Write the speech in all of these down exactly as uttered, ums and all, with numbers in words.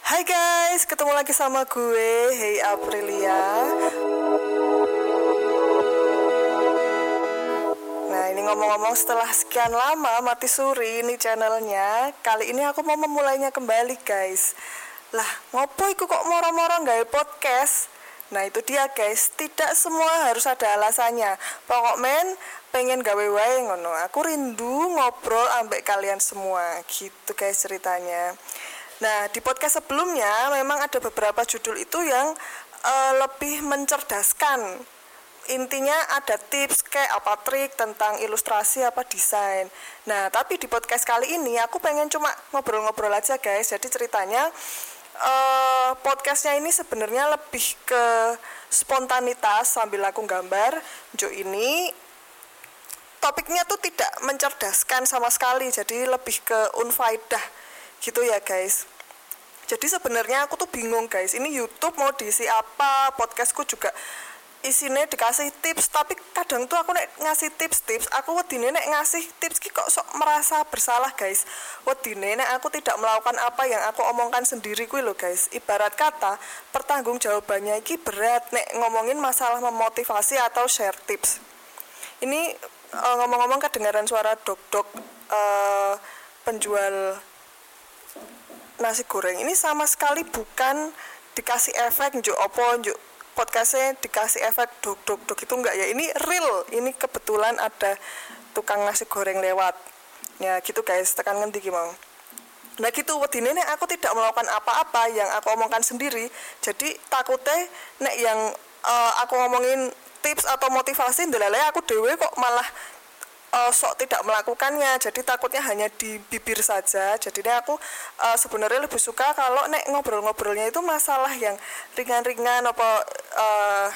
Hai guys, ketemu lagi sama gue, Hey Aprilia. Nah ini ngomong-ngomong setelah sekian lama mati suri ini channelnya, kali ini aku mau memulainya kembali guys. Lah ngopo iku kok moro-moro gawe podcast? Nah itu dia guys, tidak semua harus ada alasannya. Pokok men pengen gawe wae ngono. Aku rindu ngobrol ambek kalian semua. Gitu guys ceritanya. Nah di podcast sebelumnya memang ada beberapa judul itu yang uh, lebih mencerdaskan. Intinya ada tips kayak apa trik tentang ilustrasi apa desain. Nah tapi di podcast kali ini aku pengen cuma ngobrol-ngobrol aja guys. Jadi ceritanya uh, podcastnya ini sebenarnya lebih ke spontanitas sambil aku gambar. Jo ini topiknya tuh tidak mencerdaskan sama sekali. Jadi lebih ke unfaedah gitu ya guys. Jadi sebenarnya aku tuh bingung guys. Ini YouTube mau diisi apa? Podcastku juga isinya dikasih tips, tapi kadang tuh aku nek ngasih tips-tips, aku wedine nek ngasih tips ki kok sok merasa bersalah guys. Wedine nek aku tidak melakukan apa yang aku omongkan sendiri kuwi lho guys. Ibarat kata, pertanggungjawabannya iki berat nek ngomongin masalah memotivasi atau share tips. Ini uh, ngomong-ngomong kedengaran suara dok-dok uh, penjual nasi goreng. Ini sama sekali bukan dikasih efek njuk opo njuk podcastnya dikasih efek dok dok dok itu enggak ya, ini real, ini kebetulan ada tukang nasi goreng lewat ya gitu guys, tekan ngendi ki mau. Nah gitu wedine nek aku tidak melakukan apa-apa yang aku omongkan sendiri, jadi takutnya nek yang uh, aku ngomongin tips atau motivasi ndelele aku dewe kok malah uh, sok tidak melakukannya, jadi takutnya hanya di bibir saja. Jadi nek aku uh, sebenarnya lebih suka kalau nek ngobrol-ngobrolnya itu masalah yang ringan-ringan apa uh,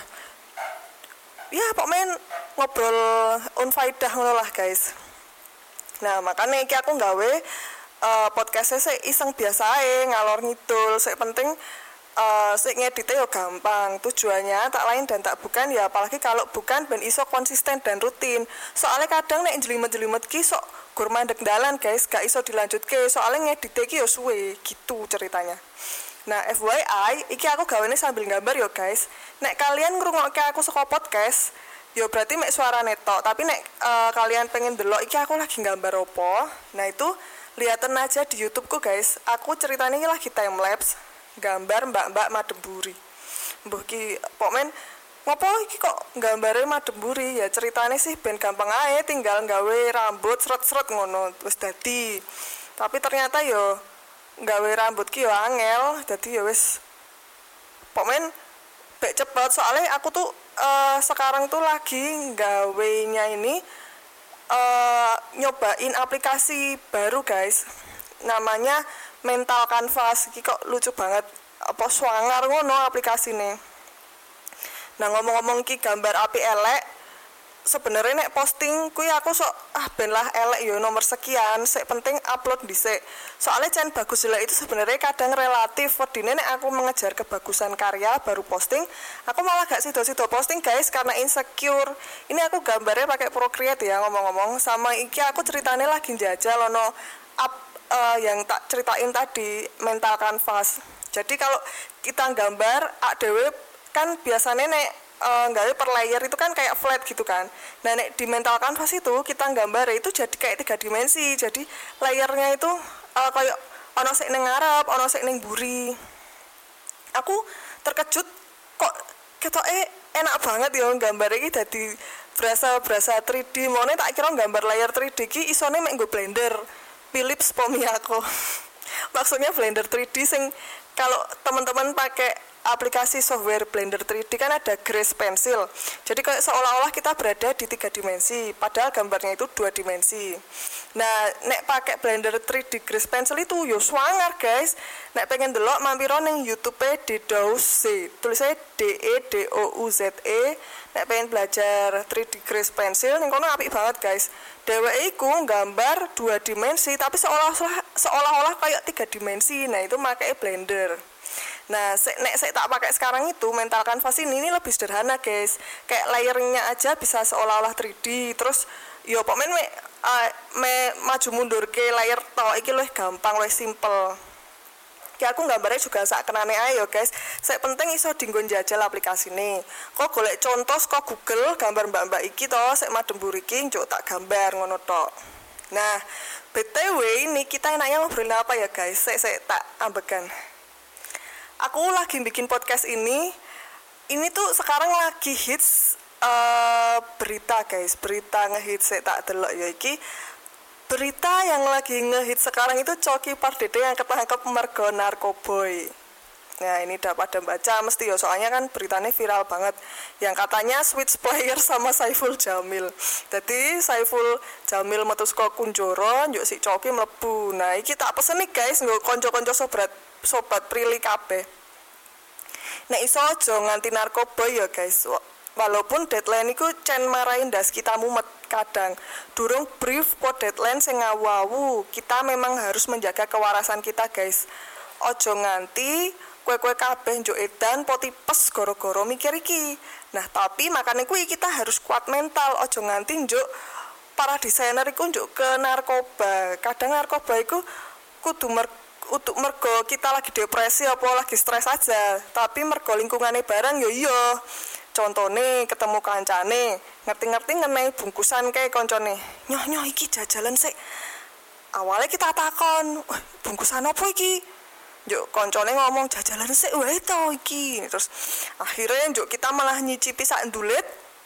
ya pokoknya ngobrol unfaedah ngono lah guys. Nah makanya iki aku nggawe uh, podcastnya sih iseng biasa ae, ngalor ngidul, sik penting Uh, sik ngeditnya ya gampang, tujuannya tak lain dan tak bukan ya, apalagi kalau bukan ben iso konsisten dan rutin. Soalnya kadang nek jelimet-jelimet ki sok gur mandek dalan guys, gak iso dilanjutke soalnya ngeditnya ki ya suwe gitu ceritanya. Nah F Y I iki aku gawene sambil gambar yo guys. Nek kalian ngrungokke aku saka podcast yo berarti mek suara netok, tapi nek uh, kalian pengen delok iki aku lagi gambar opo, nah itu liatin aja di YouTubeku guys. Aku ceritanya ini lagi time lapse gambar mbak-mbak Mademburi. Mbuh ki pokmen ngopo iki kok gambare Mademburi ya, ceritane sih ben gampang ae, tinggal gawe rambut sret-sret ngono wis dadi. Tapi ternyata yo gawe rambut ki yo angel, dadi yo wis pokmen bek cepet. Soalnya aku tuh uh, sekarang tuh lagi gawenya ini uh, nyobain aplikasi baru guys, namanya Mental Canvas. Iki kok lucu banget, apa swanger ngono aplikasine. Nah ngomong-ngomong ki gambar api elek, sebenarnya nek posting kuwi aku sok ah ben lah elek yo nomor sekian, sik penting upload dhisik. Soalnya can bagus jelek itu sebenarnya kadang relatif. Wedine nek aku mengejar kebagusan karya baru posting, aku malah gak sido-sido posting guys karena insecure. Ini aku gambarnya pakai Procreate ya ngomong-ngomong, sama iki aku ceritanya lagi njajal ono up Uh, yang tak ceritain tadi, Mental Canvas. Jadi kalau kita gambar A D W kan biasanya nek uh, nggawe per layer itu kan kayak flat gitu kan. Nah nek di Mental Canvas itu kita gambar itu jadi kayak tiga dimensi. Jadi layernya itu uh, kayak ono sik ning ngarep, ono sik ning mburi. Aku terkejut kok ketoke enak banget ya gambar iki dadi berasa-berasa tiga D. Mone tak kira gambar layar tiga D ki isone mek nggo Blender Philips Pomiako. Maksudnya Blender tiga D sing kalau teman-teman pakai aplikasi software Blender tiga D kan ada Grace Pencil. Jadi kayak seolah-olah kita berada di tiga dimensi, padahal gambarnya itu dua dimensi. Nah, nek pakai Blender tiga D Grace Pencil itu yo swanger guys. Nek pengen delok mampir ning YouTube Dedouse. Tulisnya D E D O U Z E. Nek pengen belajar tiga D Grace Pencil ning kono apik banget guys. Dheweke iku gambar dua dimensi tapi seolah-olah seolah-olah kayak tiga dimensi. Nah, itu pakai Blender. Nah, se- nek saya tak pakai sekarang itu Mental Canvas ini, ini lebih sederhana guys. Kayak layernya aja bisa seolah-olah tiga D. Terus yo pokoknya me, uh, me maju mundur ke layer tok iki luwih gampang, luwih simple. Ki aku gambarnya juga sak kenane ae yo guys. Sek penting iso dienggo njajal aplikasine. Kok golek contoh saka Google gambar mbak-mbak iki to, sek madem buriki njuk tak gambar ngono tok. Nah, B T W ini kita enaknya ngobrolin apa ya guys? Sek sek tak ambekan. Aku lagi bikin podcast ini. Ini tuh sekarang lagi hits uh, berita guys, berita ngehits sek tak delok ya iki. Berita yang lagi ngehit sekarang itu Coki Pardede yang ketangkep mergo narkoboy. Nah ini udah pada baca mesti ya, soalnya kan beritanya viral banget. Yang katanya switch player sama Saiful Jamil. Jadi Saiful Jamil metu saka Kunjoro, njuk si Coki mlebu. Nah iki tak pesen nih guys, nggo kanca-kanca sobat sobat Prilly kabeh. Nek iso aja nganti narkoboy ya guys. Walaupun deadline iku cen marahin das kita mumet kadang. Durung brief kok deadline sing ngawu-awu. Kita memang harus menjaga kewarasan kita, guys. Ojo nganti kue-kue kabeh njuk edan po tipes goro-goro mikir iki. Nah, tapi makane kuwi kita harus kuat mental. Ojo nganti njuk para desainer iku njuk ke narkoba. Kadang narkoba iku kudu mer untuk mergo kita lagi depresi apa lagi stres aja. Tapi mergo lingkungane barang yo iya. Contone ketemu kancane, ngerti-ngerti ngenai bungkusan kayak koncone. Nyoh nyoh iki jajalan sik. Awalnya kita takon, "Wah, bungkusan apa iki?" Njuk koncone ngomong jajalan sik wae to iki. Terus akhirnya njuk kita malah nyicipi sak ndulit.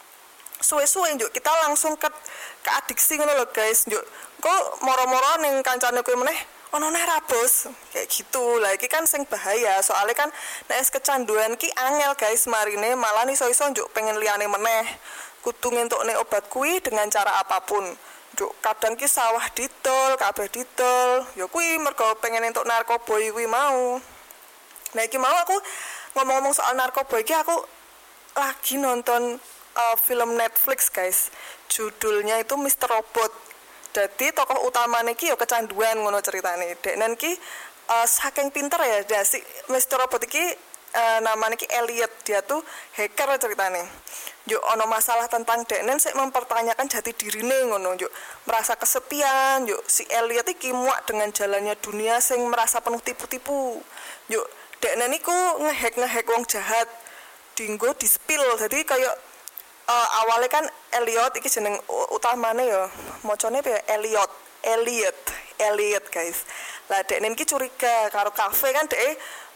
Suwe-suwe njuk kita langsung ke ke adiksi ngono lho guys. Njuk kok moro-moro ning kancane kuwi meneh ono neh rabos kayak gitu. Lah iki kan sing bahaya, soalnya kan nek kecanduan ki angel guys marine, malah iso-iso njuk pengen liyane meneh. Kudu ngentukne obat kuwi dengan cara apapun. Njuk kadang ki sawah didol, kabeh didol. Ya kuwi mergo pengen entuk narkoba kuwi mau. Nah iki mau aku ngomong-ngomong soal narkoba iki aku lagi nonton uh, film Netflix guys. Judulnya itu mister Robot. Jadi tokoh utamanya ki yo kecanduan ngono ceritane. Deknen ki uh, saking pinter ya, nah, si mister Robot iki uh, namanya ki Elliot, dia tuh hacker ceritane. Yo ono masalah tentang deknen sik mempertanyakan jati dirine ngono, yo merasa kesepian, yo si Elliot iki muak dengan jalannya dunia sing merasa penuh tipu-tipu. Yo deknen iku ngehack-ngehack wong jahat dinggo di-spill. Jadi kayak Uh, awalnya kan Elliot iki jeneng utamane ya mocone piye Elliot Elliot Elliot guys. Lah dekne iki curiga karo kafe kan dhek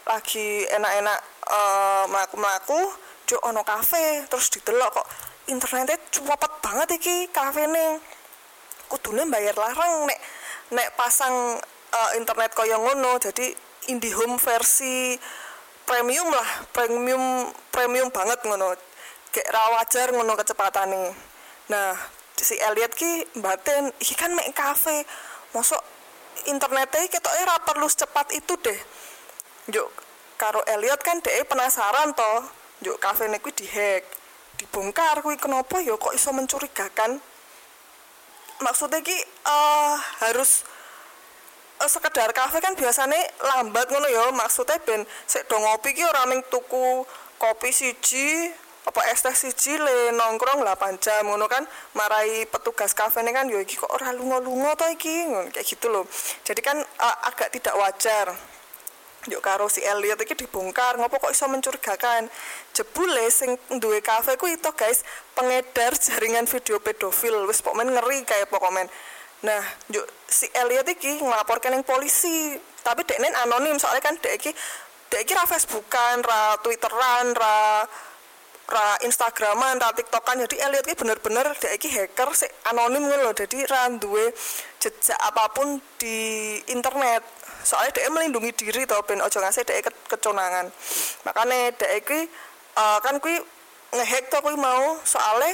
lagi enak-enak uh, mlaku-mlaku juk ono kafe terus didelok kok internetnya cepet banget iki kafene. Kudune bayar larang nek nek pasang uh, internet kaya ngono. Jadi IndiHome versi premium lah, premium premium banget ngono. Kayak ra wajar ngono kecepatane. Nah, si Elliot ki mbaten, iki kan mek kafe. Mosok internete ketoke ra perlu secepat itu deh. Njuk karo Elliot kan dhek penasaran to, njuk kafene kuwi dihack. Dibongkar kuwi kenapa ya kok iso mencurigakan. Maksudnya ki uh, harus uh, sekedar kafe kan biasanya lambat ngono ya. Maksudnya ben sik do ngopi ki ora mung tuku kopi siji apa es teh siji le nongkrong delapan jam ngono kan, marai petugas kafe ini kan yo iki kok ora lunga-lunga to iki ngono kayak gitu loh. Jadi kan uh, agak tidak wajar. Yo karo si Elliot iki dibongkar, ngopo kok iso mencurigakan. Jebule sing duwe kafe kuwi to guys pengedar jaringan video pedofil. Wis pokoknya ngeri kayak pokoknya. Nah, yo si Elliot iki nglaporkan ning polisi, tapi dekne anonim soalnya kan dek iki dek iki ra Facebookan, ra Twitteran, ra ra Instagraman, ra TikTokan. Jadi Elliot iki bener-bener dhek iki hacker sik anonim ngono lho. Jadi ra duwe jejak apapun di internet. Soalnya dhek melindungi diri to ben aja ngasih dhek ke keconangan. Makane dhek iki uh, kan kuwi ngehack to kuwi mau, soalnya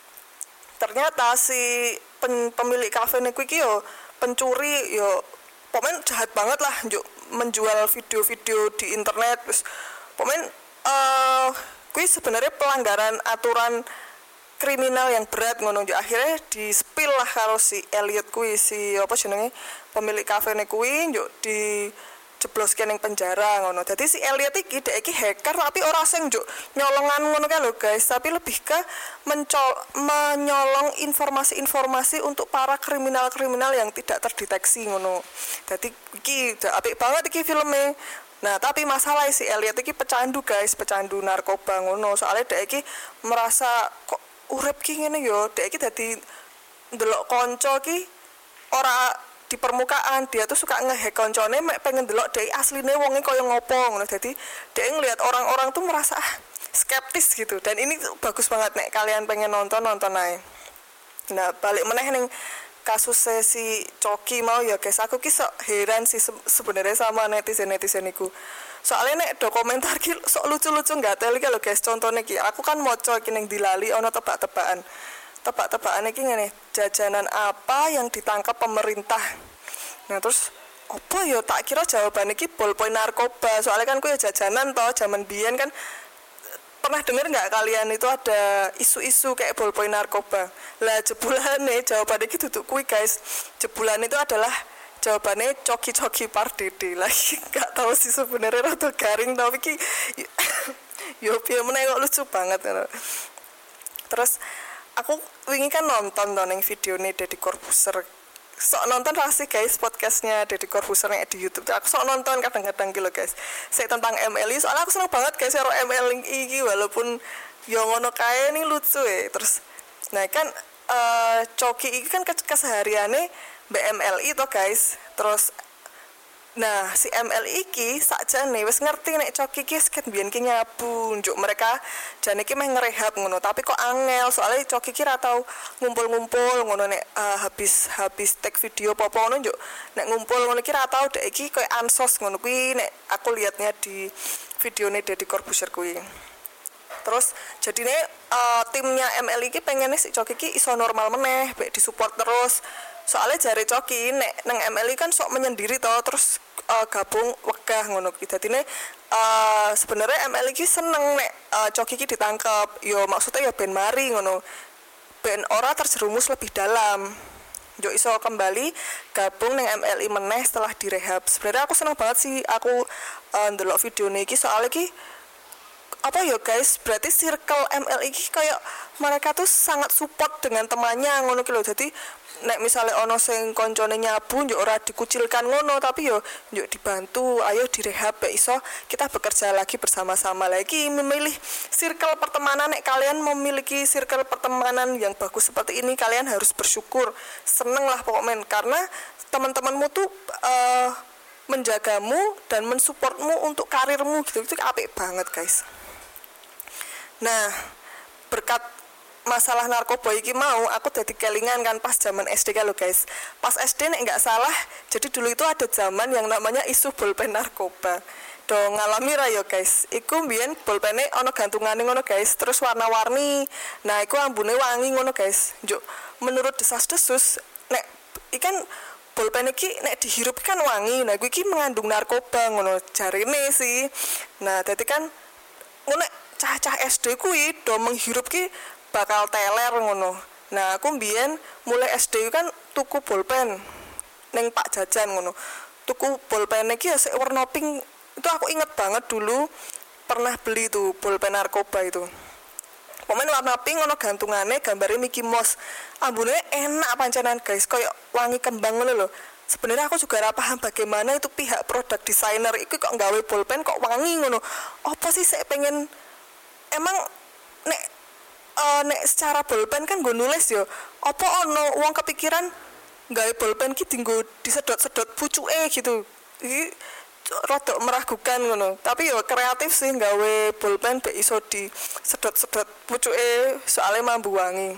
ternyata si pen, pemilik kafe kuwi iki yo pencuri yo pokoknya jahat banget lah njuk menjual video-video di internet. Terus pokoknya uh, kuwi sebenarnya pelanggaran aturan kriminal yang berat ngono. Akhirnya di-spill lah karo si Elliot kuwi, si apa jenenge pemilik kafe ne kuwi njuk di jebloske ning penjara ngono. Dadi si Elliot iki dhek iki hacker tapi ora sing njuk nyolongan ngono kae lho guys, tapi lebih ke mencol menyolong informasi-informasi untuk para kriminal-kriminal yang tidak terdeteksi ngono. Dadi iki apik banget iki filmnya. Nah, tapi masalah si Elliot iki pecandu guys, pecandu narkoba ngono. Soalnya dia iki merasa kok urip ki ngene yo, dia iki dadi ndelok kanca ki ora di permukaan, dia tuh suka ngehack koncone mek pengen delok dia asline wonge kaya ngopo ngono. Jadi dia ngelihat orang-orang tuh merasa ah, skeptis gitu. Dan ini tuh bagus banget nek kalian pengen nonton nonton ae. Nah, balik meneh ning kasus si Coki mau ya guys, aku ki sok heran sih se- sebenarnya sama netizen-netizen iku. Soalnya nek dokumenter ki sok lucu-lucu gatel iki lho guys. Contohnya ki, aku kan maca iki ning dilali ana tebak-tebakan. Tebak-tebakan iki ngene, jajanan apa yang ditangkap pemerintah. Nah, terus apa ya tak kira jawabannya iki bolpoin narkoba. Soalnya kan ku ya jajanan toh zaman biyen kan. Pernah dengar nggak kalian itu ada isu-isu kayak bolpoin narkoba? Lah jebulannya jawabannya gitu tuh kui guys. Jebulan itu adalah jawabannya coki-coki pardede. Lagi nggak tahu sih sebenarnya rada garing tapi ki yo piye meneh kok lucu banget. Terus aku wingi kan nonton to ning videone Deddy Corbuzier. Sok nonton lah sih guys podcastnya Deddy Corbuzier yang di YouTube. Aku sok nonton kadang-kadang gitu guys. Saya tentang M L I soalnya aku seneng banget guys karo M L I iki walaupun yo ngono kae nih lucu ya. Terus nah kan uh, Coki iki kan kesehariane mbak M L I to guys. Terus nah si M L I iki sakjane wis ngerti nek Coki iki sket biyen ki nyabu njuk mereka jane iki meh ngerehab ngono tapi kok angel soalnya Coki iki ra tau ngumpul-ngumpul ngono nek uh, habis habis take video apa ngono njuk nek ngumpul ngono iki ra tau dek iki koyo ansos ngono kuwi nek aku liatnya di videone Deddy Corbuzier kuwi. Terus jadine uh, timnya M L I iki pengennya si Coki iki iso normal meneh baik disupport terus. Soalnya jari Coki nek nang M L I kan sok menyendiri toh terus uh, gabung wegah ngono ki. Dadine uh, sebenarnya M L I ki seneng nek uh, Coki ki ditangkap. Yo maksudnya ya ben mari ngono. Ben ora terjerumus lebih dalam. Yo iso kembali gabung nang M L I meneh setelah direhab. Sebenarnya aku seneng banget sih aku uh, ndelok video niki soalnya ki apa ya guys, berarti circle M L I ki kayak mereka tuh sangat support dengan temannya ngono ki lho. Dadi nek misalnya ono sing koncone nyabu njuk ora dikucilkan ngono tapi yo njuk dibantu, ayo direhab ya iso kita bekerja lagi bersama-sama lagi. Memilih circle pertemanan, nek kalian memiliki circle pertemanan yang bagus seperti ini kalian harus bersyukur, seneng lah pokoknya karena teman-temanmu tuh uh, menjagamu dan mensupportmu untuk karirmu gitu. Itu apik banget guys. Nah, berkat masalah narkoba iki mau aku jadi kelingan kan pas zaman S D kan lo guys. Pas S D nek nggak salah, jadi dulu itu ada zaman yang namanya isu bolpen narkoba. Do ngalami ra yo guys. Iku mbiyen bolpene ana gantungane ngono guys, terus warna-warni. Nah, iku ambune wangi ngono guys. Njuk menurut desas-desus nek ikan bolpen iki nek dihirup kan wangi. Nah, iku iki mengandung narkoba ngono jarine sih. Nah, dadi kan ngono cah-cah S D kuwi do menghirup ki bakal teler ngono. Nah, aku mbiyen mulai S D kan tuku bolpen ning Pak Jajan ngono. Tuku bolpen iki ya sik warna pink. Itu aku inget banget dulu pernah beli tuh bolpen narkoba itu. Pokoknya warna pink ngono gantungane gambare Mickey Mouse. Ambune enak pancenan guys, koyo wangi kembang ngono lho. Sebenarnya aku juga ora paham bagaimana itu pihak produk designer itu kok nggawe bolpen kok wangi ngono. Apa sih saya pengen emang nek uh, nek secara bolpen kan gue nulis yo apa ono uang kepikiran gawe bolpen ki tinggo disedot-sedot pucuke gitu iki rada meragukan ngono tapi yo kreatif sih gawe bolpen be iso disedot-sedot pucuke soalnya mambu wangi.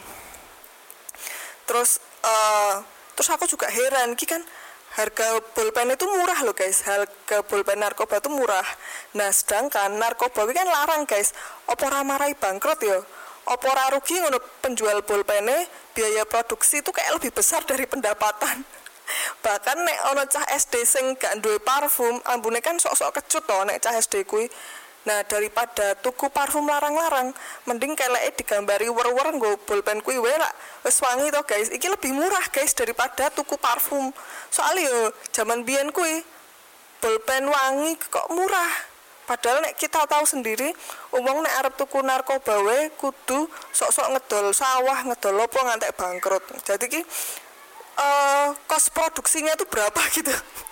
Terus uh, terus aku juga heran ki kan harga bolpen itu murah loh guys, harga bolpen narkoba itu murah. Nah sedangkan narkoba itu kan larang guys, apa ora marai bangkrut ya? Apa ora rugi ngono penjual bolpene, biaya produksi itu kayak lebih besar dari pendapatan. Bahkan nek ono cah S D sing gak duwe parfum, ambune kan sok-sok kecut to nek cah S D kuwi. Nah daripada tuku parfum larang-larang, mending keleke digambari wer-wer nggo bolpen kuwi wae lak wis wangi to guys. Iki lebih murah guys daripada tuku parfum. Soalnya yo zaman biyen kuwi bolpen wangi kok murah. Padahal nek kita tahu sendiri, wong nek arep tuku narkoba wae kudu sok-sok ngedol sawah, ngedol opo ngantek bangkrut. Jadi ki uh, kos produksinya itu berapa gitu.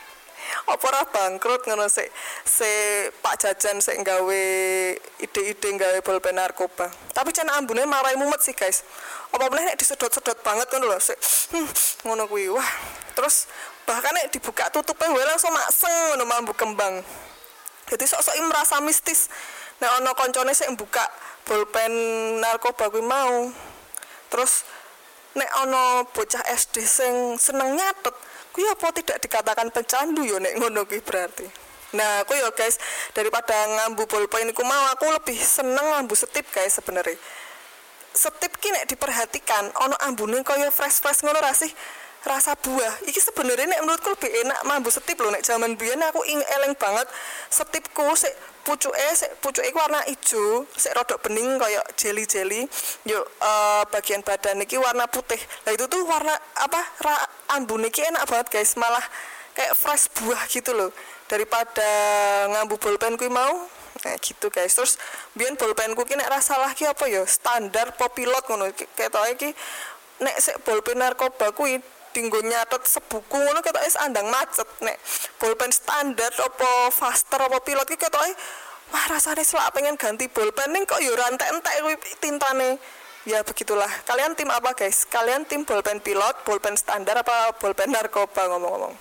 Apa ora bangkrut ngono sik se Pak Jajan sik gawe ide-ide gawe bolpen narkoba. Tapi cen ambune marai mumet sih guys. Apa meneh nek disedot-sedot banget ngono lho sik hmm, ngono kuwi. Wah, terus bahkan nek dibuka tutupe wae langsung makseng ngono mambu kembang. Jadi sok-sok merasa mistis. Nek ana koncone sik buka bolpen narkoba kuwi mau. Terus nek ana bocah S D sing seneng nyatet, kuwi apa tidak dikatakan pecandu ya nek ngono kuwi berarti. Nah, aku ya guys, daripada ngambu bolpen iku mau aku lebih seneng ngambu setip guys sebenarnya. Setip ki nek diperhatikan ana ambune kaya fresh-fresh ngono ra sih? Rasa buah. Iki sebenarnya nek menurutku lebih enak mambu setip lho. Nek zaman biyen aku ing eleng banget setipku sik pucuke sik pucuke warna ijo, sik rodok bening kaya jeli-jeli. Yo uh, bagian badan iki warna putih. Lah itu tuh warna apa? Ra, ambune iki enak banget guys, malah kayak fresh buah gitu loh. Daripada ngambu bolpen kuwi mau. Nah gitu guys. Terus biyen bolpenku ki nek ra salah ki apa ya? Standar Popilot ngono. Ketoke iki nek sik bolpen narkoba kuwi dinggo nyatet sebuku ngono ketoke andang macet. Nek bolpen standar apa faster apa pilot ki ketoke wah rasane selak pengen ganti bolpen ning kok yo rantek-entek kuwi tintane. Ya begitulah. Kalian tim apa guys? Kalian tim bolpen pilot, bolpen standar apa bolpen narkoba ngomong-ngomong?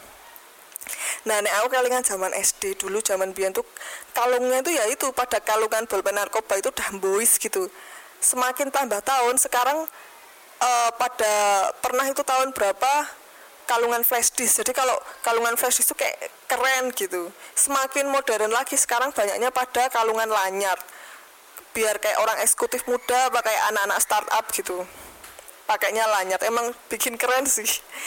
Nah, nek aku kelingan zaman S D dulu, zaman biyen tuh kalungnya itu ya itu pada kalungan bolpen narkoba itu udah boys gitu. Semakin tambah tahun sekarang Uh, pada pernah itu tahun berapa kalungan flash disk. Jadi kalau kalungan flash disk itu kayak keren gitu. Semakin modern lagi sekarang banyaknya pada kalungan lanyard. Biar kayak orang eksekutif muda apa kayak anak-anak startup gitu. Pakainya lanyard. Emang bikin keren sih.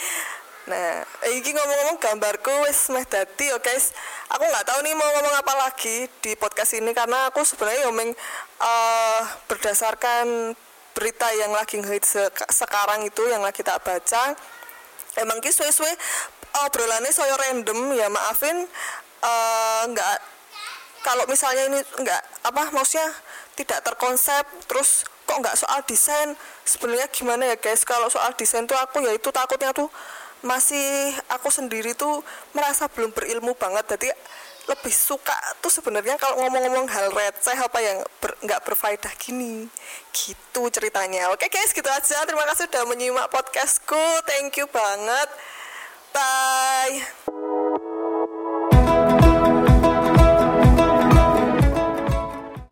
Nah, ini ngomong-ngomong gambarku wis meh dadi ya guys. Aku nggak tahu nih mau ngomong apa lagi di podcast ini karena aku sebenarnya ngomong uh, berdasarkan berita yang lagi ngehit sekarang itu yang lagi tak baca. Emang ki suwe-suwe obrolannya saya random ya, maafin uh, nggak kalau misalnya ini nggak apa maksudnya tidak terkonsep. Terus kok nggak soal desain, sebenarnya gimana ya guys, kalau soal desain tuh aku ya itu takutnya tuh masih aku sendiri tuh merasa belum berilmu banget. Jadi lebih suka tuh sebenarnya kalau ngomong-ngomong hal receh apa yang ber, nggak berfaedah gini gitu ceritanya. Oke guys, gitu aja. Terima kasih sudah menyimak podcastku. Thank you banget. Bye.